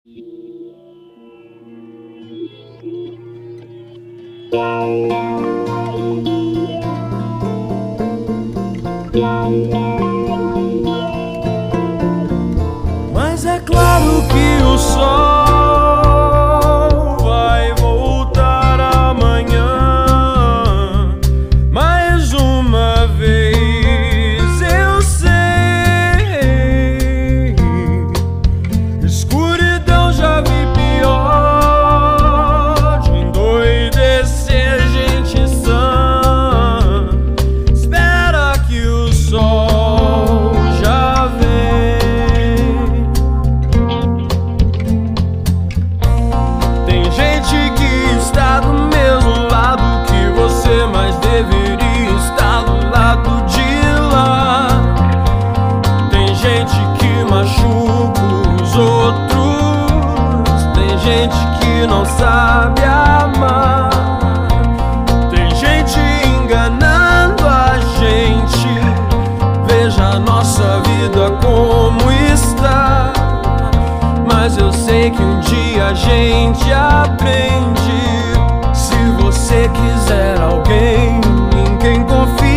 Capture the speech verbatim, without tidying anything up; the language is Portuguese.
Mas é claro que o sol vai voltar amanhã. Mais uma vez eu sei, escuridão já vi pior, de endoidecer gente sã. Espera que o sol já vem. Tem gente que está do mesmo lado que você, mas deveria estar do lado de lá. Tem gente que machuca os outros, tem gente que não sabe amar, tem gente enganando a gente. Veja a nossa vida como está. Mas eu sei que um dia a gente aprende. Se você quiser alguém em quem confiar,